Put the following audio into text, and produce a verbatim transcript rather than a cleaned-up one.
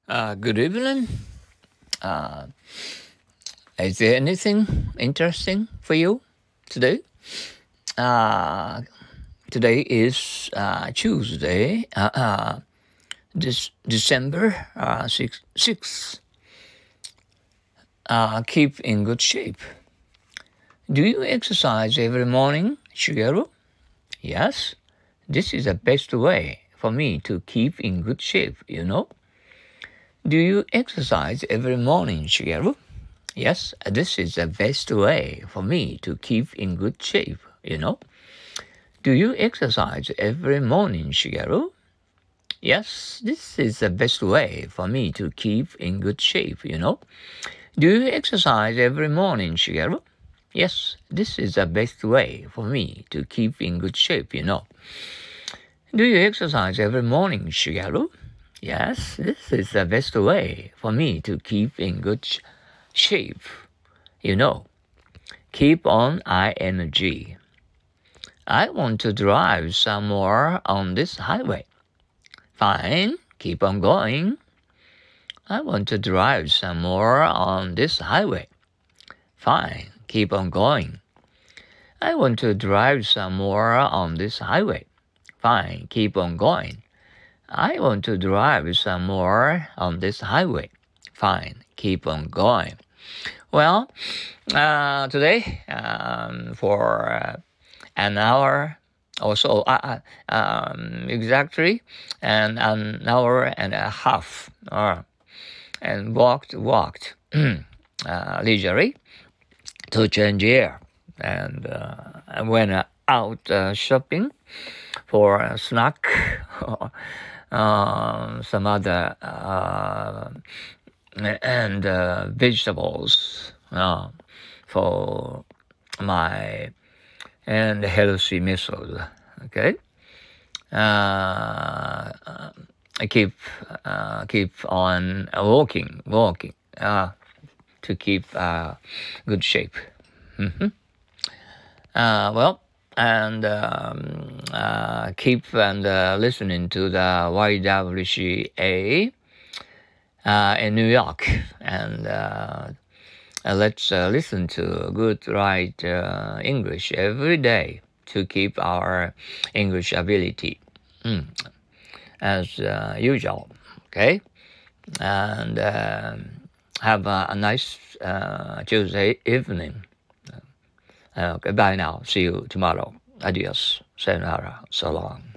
Uh, good evening. Uh, is there anything interesting for you today? Uh, Today is uh, Tuesday, uh, uh, this December uh, sixth. sixth. Uh, keep in good shape. Do you exercise every morning, Shigeru? Yes, this is the best way for me to keep in good shape, you know. Do you exercise every morning, Shigeru? Yes, this is the best way for me to keep in good shape, you know. Do you exercise every morning, Shigeru? Yes, this is the best way for me to keep in good shape, you know. Do you exercise every morning, Shigeru? Yes, this is the best way for me to keep in good shape, you know. Do you exercise every morning, Shigeru? Yes, this is the best way for me to keep in good sh- shape, you know. Keep on ing. I want to drive some more on this highway. Fine, keep on going. I want to drive some more on this highway. Fine, keep on going. I want to drive some more on this highway. Fine, keep on going. I want to drive some more on this highway. Fine, keep on going. Well, uh, today, um, for uh, an hour or so, uh, um, exactly, and an hour and a half, uh, and walked, walked uh, leisurely to change air, and uh, I went uh, out uh, shopping for a snack, uh, some other uh, and uh, vegetables uh, for my and healthy method. Okay, uh, I keep uh, keep on walking, walking uh, to keep uh, good shape. Mm-hmm. Uh, well, and um, uh, keep and uh, listening to the Y W C A uh, in New York, and uh, uh, let's uh, listen to good right uh, English every day to keep our English ability mm, as uh, usual. Okay, and uh, have a, a nice uh, Tuesday evening. Uh, goodbye now. See you tomorrow. Adios. Sayonara. So long.